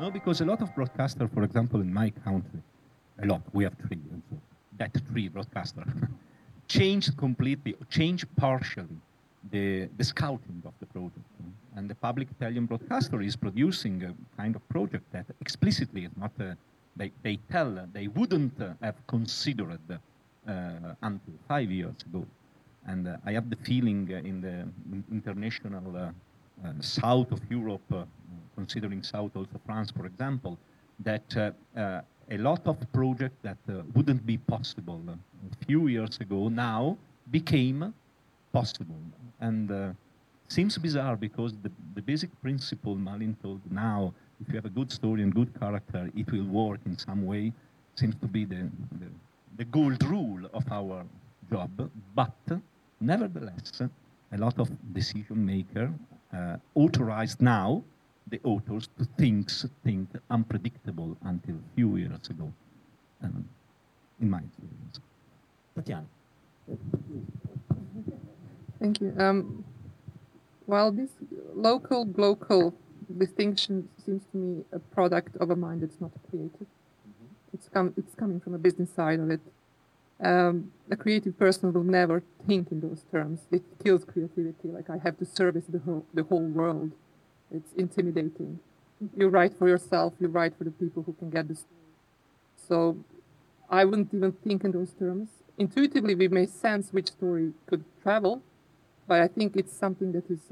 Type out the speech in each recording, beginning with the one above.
No, because a lot of broadcasters, for example, in my country, a lot, we have three, and so that three broadcasters, changed completely, changed partially the scouting of the project. And the public Italian broadcaster is producing a kind of project that explicitly is not, they tell they wouldn't have considered until 5 years ago. And I have the feeling in the international south of Europe, considering south also France, for example, that a lot of projects that wouldn't be possible a few years ago now became possible. And seems bizarre because the basic principle Malin told now, if you have a good story and good character, it will work in some way, seems to be the gold rule of our job. But nevertheless, a lot of decision makers authorized now the authors to think unpredictable until a few years ago, in my experience. Tatiana. Thank you. Well, this local-global distinction seems to me a product of a mind that's not creative. It's coming from a business side of it. A creative person will never think in those terms. It kills creativity. Like, I have to service the whole world. It's intimidating. You write for yourself. You write for the people who can get the story. So I wouldn't even think in those terms. Intuitively, we may sense which story could travel, but I think it's something that is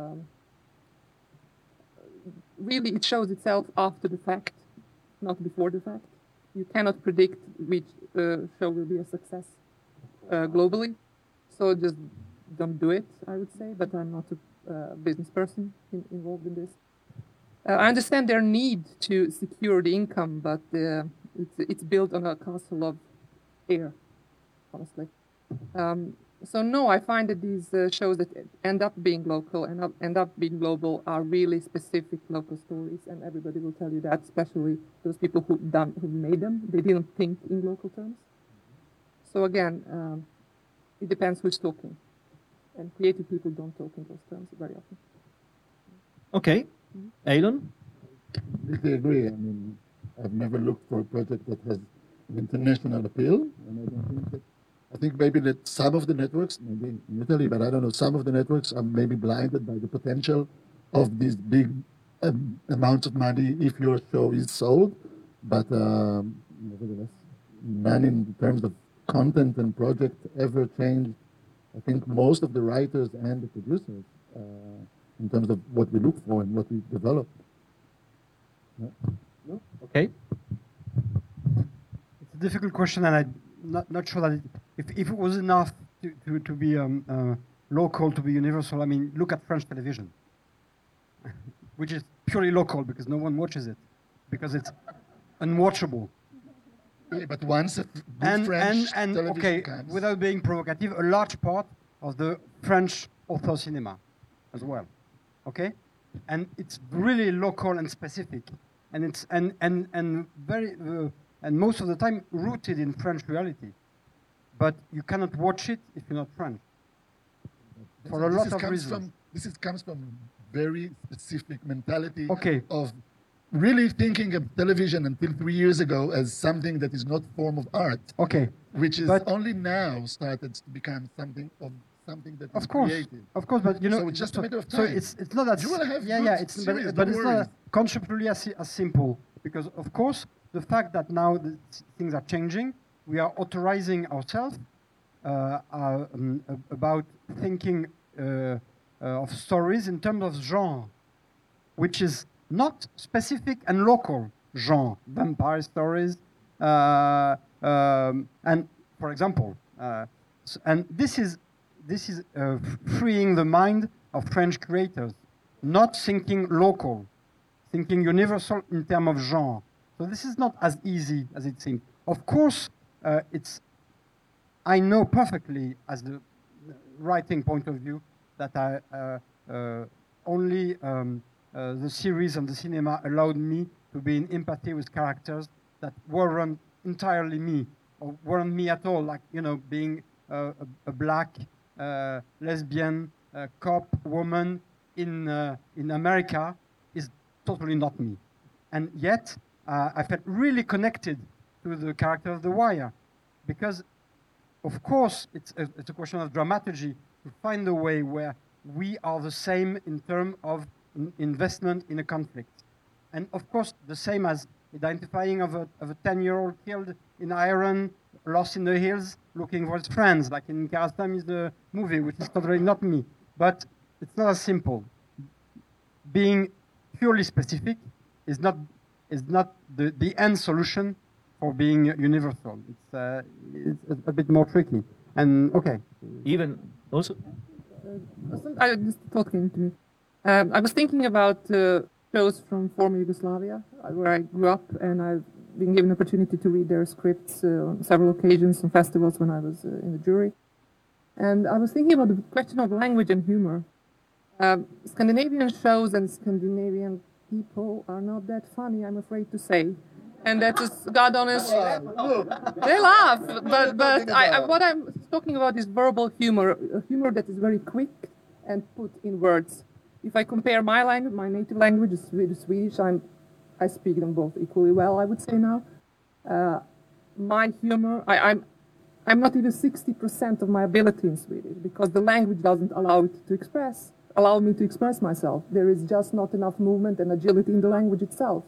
really, it shows itself after the fact, not before the fact. You cannot predict which show will be a success globally, so just don't do it, I would say, but I'm not a business person involved in this. I understand their need to secure the income, but it's built on a castle of air, honestly. So no, I find that these shows that end up being local and end up being global are really specific local stories, and everybody will tell you that, especially those people who made them. They didn't think in local terms. So again, it depends who's talking, and creative people don't talk in those terms very often. Okay, Eilon? I agree. I mean, I've never looked for a project that has international appeal, and I don't think that. I think maybe that some of the networks, maybe in Italy, but I don't know, some of the networks are maybe blinded by the potential of these big amounts of money if your show is sold. But nevertheless, none in terms of content and project ever changed. I think most of the writers and the producers, in terms of what we look for and what we develop. No? Okay. It's a difficult question, and I'm not sure that if it was enough to be local, to be universal. I mean, look at French television, which is purely local because no one watches it, because it's unwatchable. Yeah, but once French television okay, comes. Without being provocative, a large part of the French author cinema as well. Okay, and it's really local and specific, and it's and very and most of the time rooted in French reality. But you cannot watch it if you're not French. For a lot of reasons. This comes from very specific mentality okay. of really thinking of television until 3 years ago as something that is not form of art. Okay. Which is only now started to become something that is creative. Of course, but you know, so it's just a matter of time. So it's not that. You will have it's series, but it's not conceptually as simple, because of course the fact that now things are changing, we are authorizing ourselves about thinking of stories in terms of genre, which is not specific and local genre. Vampire stories, and for example, and this is freeing the mind of French creators, not thinking local, thinking universal in terms of genre. So this is not as easy as it seems. Of course, I know perfectly, as the writing point of view, that only the series and the cinema allowed me to be in empathy with characters that weren't entirely me, or weren't me at all, like, you know, being a black lesbian cop woman in America is totally not me. And yet, I felt really connected to the character of the wire, because, of course, it's a question of dramaturgy to find a way where we are the same in terms of investment in a conflict. And of course, the same as identifying of a 10-year-old killed in Iran, lost in the hills, looking for his friends, like in Kiarostami's the movie, which is totally not me. But it's not as simple. Being purely specific is not the end solution for being universal. It's a bit more tricky. And okay. Even also, I just talking to me. I was thinking about shows from former Yugoslavia, where I grew up, and I've been given the opportunity to read their scripts on several occasions on festivals when I was in the jury. And I was thinking about the question of language and humor. Scandinavian shows and Scandinavian people are not that funny, I'm afraid to say. And that is, God honest, they laugh. But what I'm talking about is verbal humor, a humor that is very quick and put in words. If I compare my language, my native language is Swedish, I speak them both equally well, I would say now. My humor, I'm not even 60% of my ability in Swedish, because the language doesn't allow me to express myself. There is just not enough movement and agility in the language itself.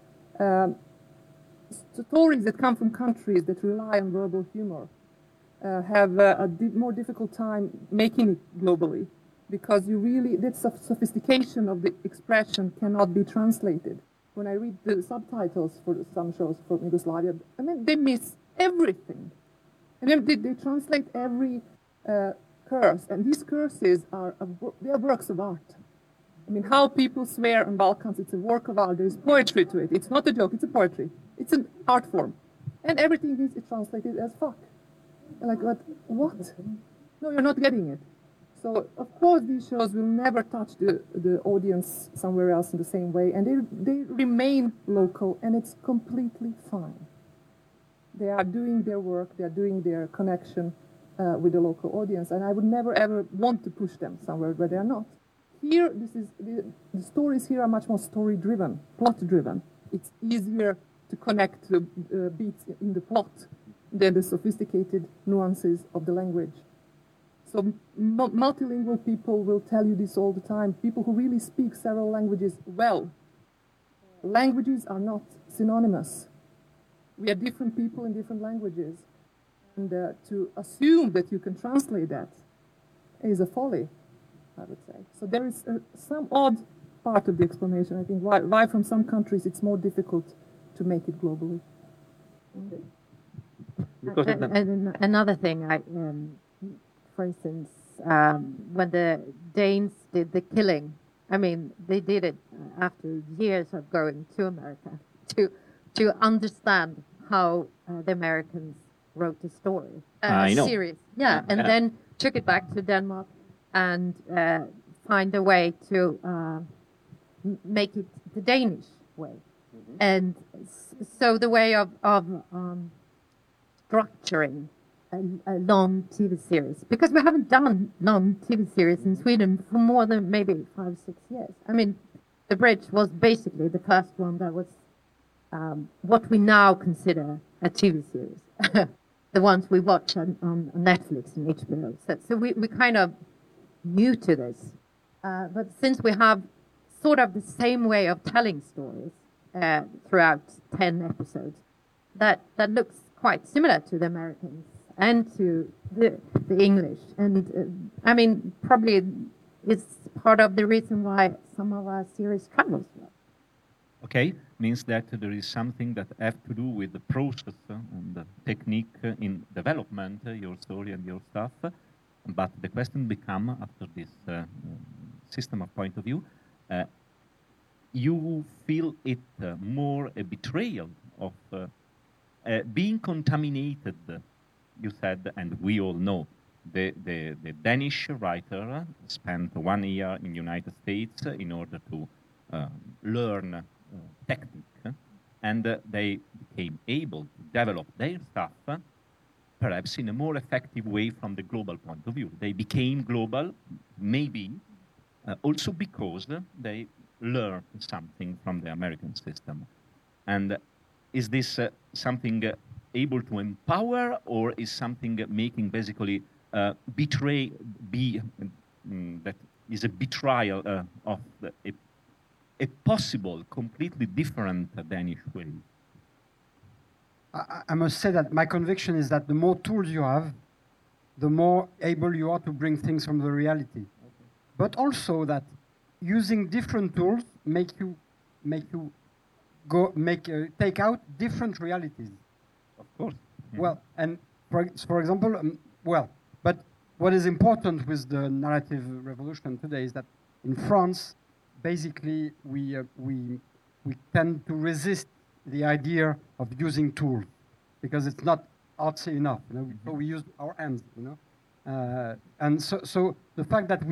Stories that come from countries that rely on verbal humor have a more difficult time making it globally, because that sophistication of the expression cannot be translated. When I read the subtitles for some shows from Yugoslavia, I mean, they miss everything. And then they translate every curse, and these curses they are works of art. I mean, how people swear in Balkans, it's a work of art. There's poetry to it. It's not a joke, it's a poetry. It's an art form. And everything is translated as fuck. And like, what? No, you're not getting it. So, of course, these shows will never touch the audience somewhere else in the same way, and they remain local, and it's completely fine. They are doing their work, they are doing their connection with the local audience, and I would never ever want to push them somewhere where they are not. Here, the stories here are much more story-driven, plot-driven. It's easier to connect the beats in the plot than the sophisticated nuances of the language. So multilingual people will tell you this all the time. People who really speak several languages well. Languages are not synonymous. We are different people in different languages. And to assume that you can translate that is a folly, I would say. So there is some odd part of the explanation, I think, why from some countries it's more difficult to make it globally. And another thing, for instance, when the Danes did the killing, I mean, they did it after years of going to America to understand how the Americans wrote the story. I know. Series. Yeah, and then took it back to Denmark and find a way to make it the Danish way. Mm-hmm. And so the way of structuring a long TV series, because we haven't done long TV series in Sweden for more than maybe 5-6 years. I mean, The Bridge was basically the first one that was what we now consider a TV series. The ones we watch on Netflix and HBO. So we kind of new to this. But since we have sort of the same way of telling stories throughout 10 episodes, that looks quite similar to the Americans and to the English. And I mean, probably it's part of the reason why some of our series travels well. Okay, means that there is something that have to do with the process and the technique in development, your story and your stuff. But the question become, after this system of point of view, you feel it more a betrayal of being contaminated, you said, and we all know. The Danish writer spent 1 year in the United States in order to learn technique, and they became able to develop their stuff perhaps in a more effective way from the global point of view. They became global, maybe also because they learned something from the American system. And is this something able to empower, or is something making basically that is a betrayal of a possible, completely different Danish way? I must say that my conviction is that the more tools you have, the more able you are to bring things from the reality. Okay. But also that using different tools make you take out different realities. Of course. Mm-hmm. Well, and for example, but what is important with the narrative revolution today is that in France, basically we tend to resist the idea of using tools because it's not artsy enough. You know, so we use our hands. You know, and so the fact that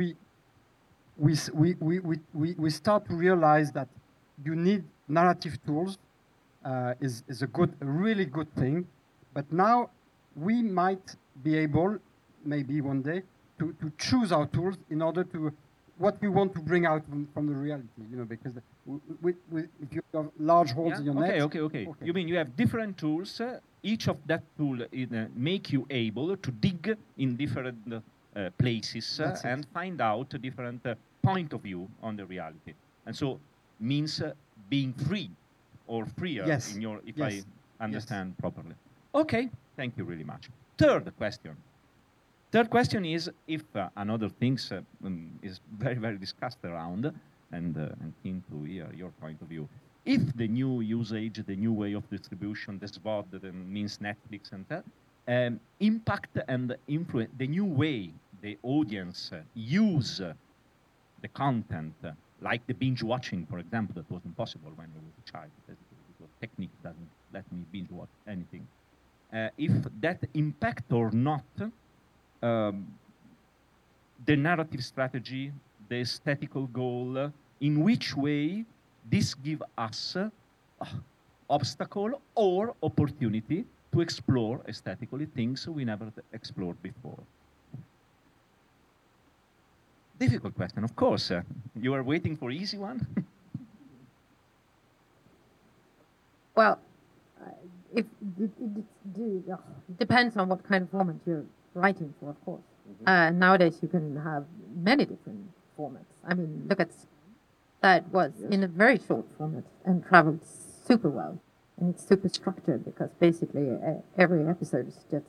we start to realize that you need narrative tools is a really good thing. But now we might be able, maybe one day, to choose our tools in order to what we want to bring out from the reality, you know, because if you have large holes in your net... Okay. You mean you have different tools, each of that tool make you able to dig in different places and find out a different point of view on the reality. And so means being free or freer, yes. in your, if I understand properly. Okay, thank you really much. Third question is, if another things is very, very discussed around, and keen to hear your point of view. If the new usage, the new way of distribution, the SVOD, that means Netflix and that, impact and influence the new way the audience use the content, like the binge watching, for example, that was impossible when I was a child, because technique doesn't let me binge watch anything. If that impact or not, the narrative strategy, the aesthetical goal, in which way this give us obstacle or opportunity to explore aesthetically things we never explored before? Difficult question, of course. You are waiting for easy one? Well, it depends on what kind of format you're writing for, of course. Mm-hmm. Nowadays you can have many different formats. I mean, look at that was in a very short format and traveled super well. And it's super structured because basically every episode is just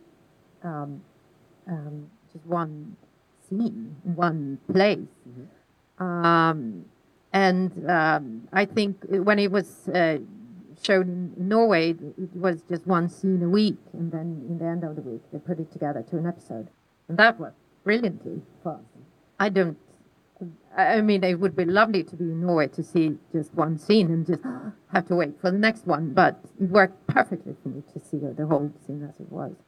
one scene, one place. Mm-hmm. I think when it was shown in Norway, it was just one scene a week, and then in the end of the week they put it together to an episode, and that worked brilliantly for us. I mean, it would be lovely to be in Norway to see just one scene and just have to wait for the next one, but it worked perfectly for me to see the whole scene as it was.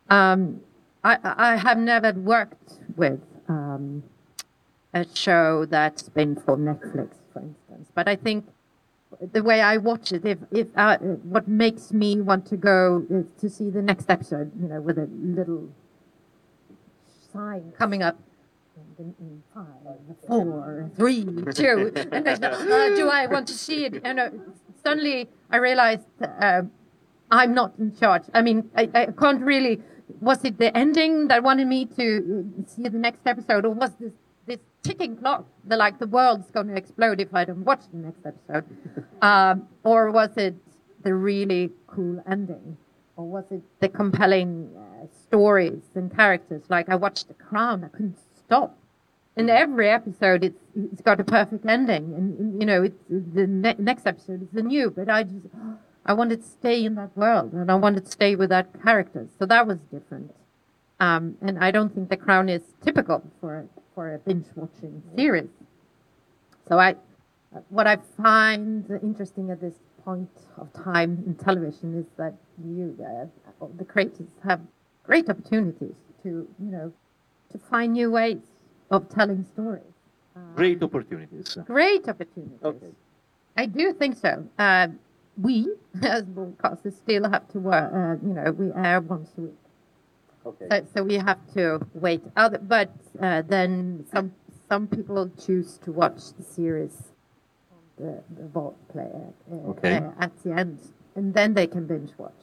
I have never worked with a show that's been for Netflix, for instance, but I think the way I watch it, what makes me want to go is to see the next episode, you know, with a little sign coming up. In 5, 4, 3, 2, and do I want to see it? And suddenly I realized I'm not in charge. I mean, I can't really. Was it the ending that wanted me to see the next episode, or was this ticking clock, the world's going to explode if I don't watch the next episode, or was it the really cool ending, or was it the compelling stories and characters? Like I watched The Crown, I couldn't stop. In every episode, it's got a perfect ending, and you know, the next episode is the new. But I wanted to stay in that world, and I wanted to stay with that character. So that was different. And I don't think The Crown is typical for a binge-watching series. So what I find interesting at this point of time in television is that the creators have great opportunities to find new ways of telling stories. Great opportunities. Great opportunities. Okay. I do think so. We, as broadcasters, still have to work. We air once a week. Okay. So we have to wait. But then some people choose to watch the series the vault player Okay. at the end, and then they can binge watch.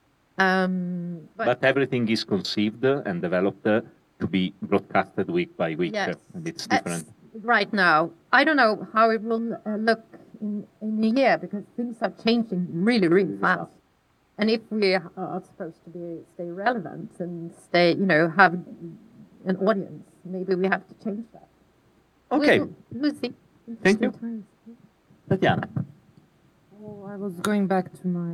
But everything is conceived and developed to be broadcasted week by week, yes, and it's different. Right now, I don't know how it will look in a year, because things are changing really, really fast. And if we are supposed to stay relevant and have an audience, maybe we have to change that. Okay. We'll see. Thank you. Times. Tatiana. Oh, I was going back to my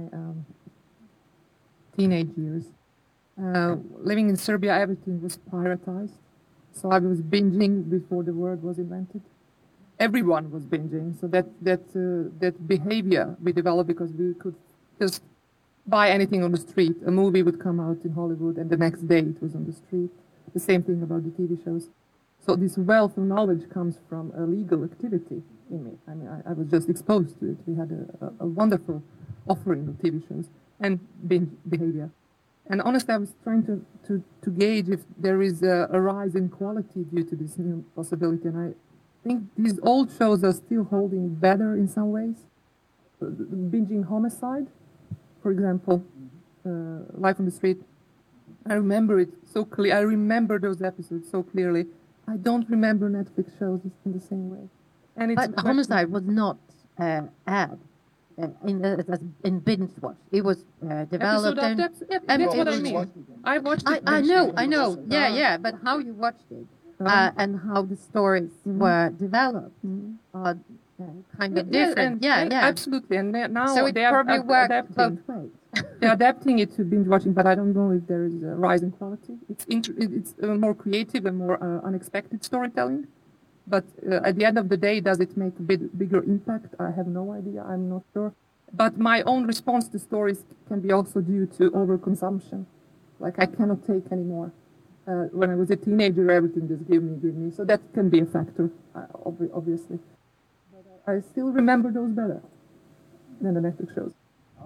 teenage years. Living in Serbia, everything was privatized. So I was binging before the word was invented. Everyone was binging. So that behavior we developed because we could just buy anything on the street. A movie would come out in Hollywood, and the next day it was on the street. The same thing about the TV shows. So this wealth of knowledge comes from a legal activity in me. I mean, I was just exposed to it. We had a wonderful offering of TV shows and binge behavior. And honestly, I was trying to gauge if there is a rise in quality due to this new possibility. And I think these old shows are still holding better in some ways. Binging Homicide, for example, Life on the Street. I remember it so clearly. I remember those episodes so clearly. I don't remember Netflix shows in the same way. And it's But Homicide was not aired in binge watch. It was developed. That's what I mean. I watched it. I know. Yeah. But how you watched it and how the stories were developed are kind of different. Yeah. Absolutely. And now so it they probably are worked adapting. both ways. They're adapting it to binge watching, but I don't know if there is a rise in quality. It's more creative and more unexpected storytelling. But at the end of the day, does it make a bigger impact? I have no idea. I'm not sure. But my own response to stories can be also due to overconsumption. Like I cannot take anymore. When I was a teenager, everything just give me. So that can be a factor, obviously. But I still remember those better than the Netflix shows.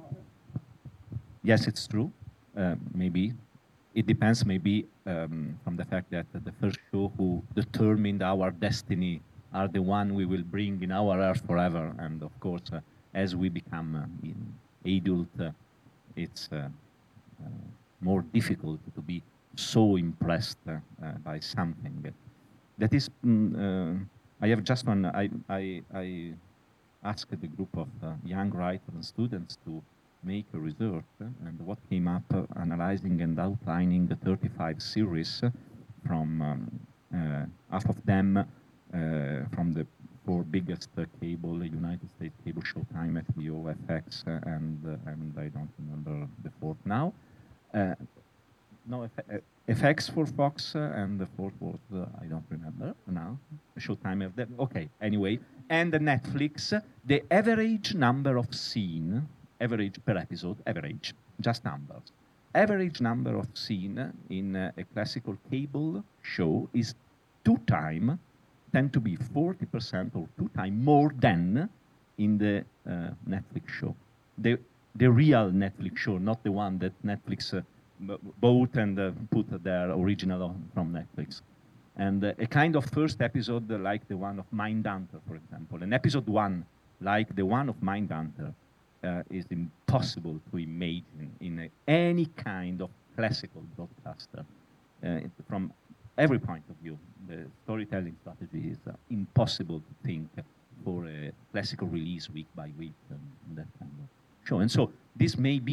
Yes, it's true. Maybe it depends. Maybe from the fact that the first show who determined our destiny are the one we will bring in our earth forever. And of course, as we become adult, it's more difficult to be so impressed by something. That is, I have just one. I asked a group of young writers and students to make a research, and what came up analyzing and outlining the 35 series from half of them from the four biggest cable, United States cable, Showtime, HBO, FX, and I don't remember the fourth now. No, FX for Fox, and the fourth was, I don't remember now. Showtime, okay, anyway. And the Netflix, the average number of scene, average per episode, average, just numbers. Average number of scene in a classical cable show is tend to be 40% or 2 times more than in the Netflix show. The real Netflix show, not the one that Netflix bought and put their original from Netflix. And a kind of first episode like the one of Mindhunter, for example. An episode 1 like the one of Mindhunter is impossible to imagine in any kind of classical broadcaster. From every point of view, the storytelling strategy is impossible to think for a classical release week by week and that kind of show. And so this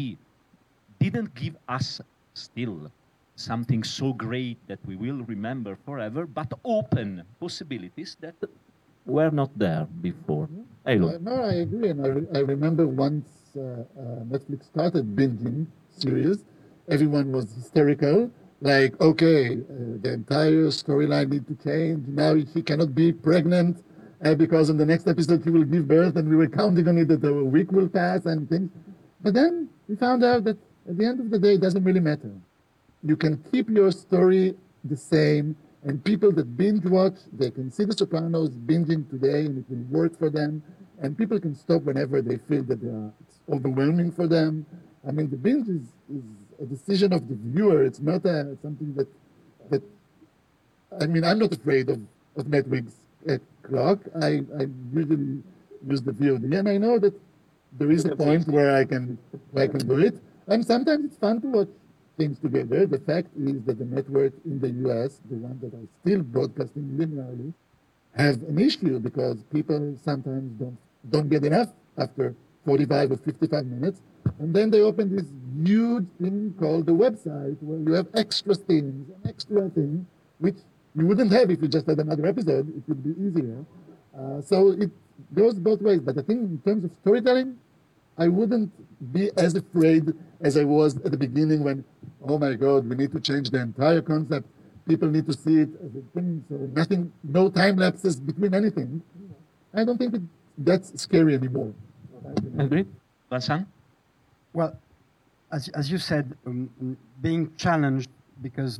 didn't give us still something so great that we will remember forever, but open possibilities that were not there before. No, I agree. And I remember once Netflix started binging series, everyone was hysterical. Like, okay, the entire storyline needs to change. Now she cannot be pregnant because in the next episode she will give birth, and we were counting on it that a week will pass and things. But then we found out that at the end of the day, it doesn't really matter. You can keep your story the same, and people that binge watch, they can see The Sopranos binging today, and it will work for them. And people can stop whenever they feel that it's overwhelming for them. I mean, the binge is a decision of the viewer. It's not something that. I mean, I'm not afraid of Netflix clock. I usually use the VOD, and I know that there is a point where I can do it. And sometimes it's fun to watch things together. The fact is that the network in the US, the one that are still broadcasting linearly, have an issue because people sometimes don't get enough after 45 or 55 minutes. And then they open this huge thing called the website where you have extra things, an extra thing, which you wouldn't have if you just had another episode. It would be easier. So it goes both ways. But I think in terms of storytelling, I wouldn't be as afraid as I was at the beginning when, oh my God, we need to change the entire concept. People need to see it as a thing. So nothing, no time lapses between anything. I don't think that's scary anymore. Agreed. Vincent? Well, as you said, being challenged because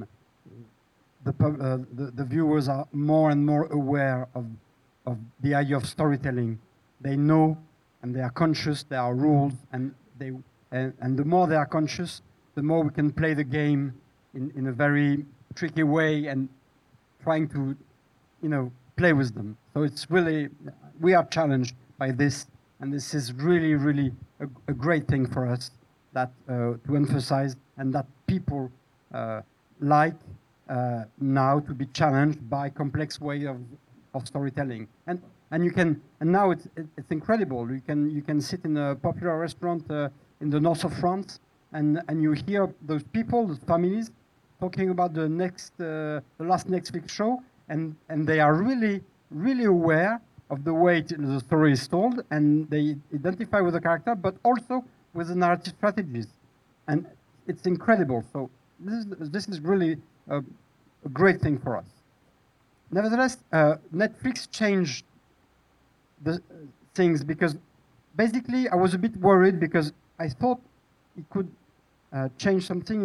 the viewers are more and more aware of the idea of storytelling. They know and they are conscious. There are rules, and the more they are conscious, the more we can play the game in a very tricky way and trying to, play with them. So it's really, we are challenged by this, and this is really, really a great thing for us that to emphasize, and that people like now to be challenged by complex way of storytelling. And you can, and now it's incredible. You can sit in a popular restaurant in the north of France, and you hear those people, those families, talking about the last Netflix show, and they are really, really aware of the way the story is told, and they identify with the character, but also with the narrative strategies, and it's incredible. So this is really a great thing for us. Nevertheless, Netflix changed the things because basically I was a bit worried because I thought it could change something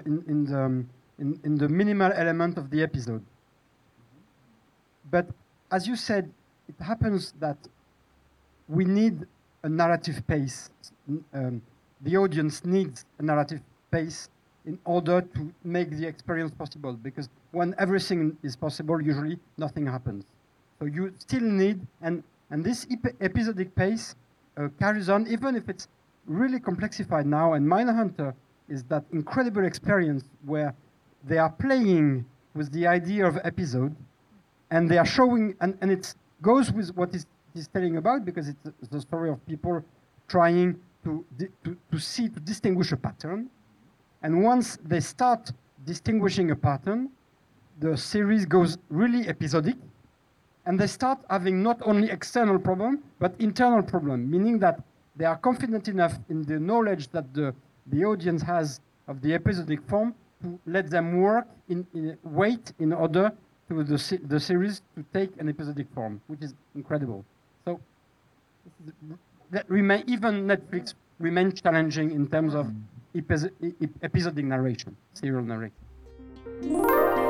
in the minimal element of the episode. But as you said, it happens that we need a narrative pace. The audience needs a narrative pace in order to make the experience possible, because when everything is possible, usually nothing happens. So you still need, and this episodic pace carries on, even if it's really complexified now. And Mindhunter is that incredible experience where they are playing with the idea of episode, and they are showing, and it goes with what is telling about, because it's the story of people trying to distinguish a pattern. And once they start distinguishing a pattern, the series goes really episodic, and they start having not only external problem, but internal problem, meaning that they are confident enough in the knowledge that the audience has of the episodic form to let them work wait in order to the series to take an episodic form, which is incredible. So even Netflix remains challenging in terms of episodic narration, serial narration.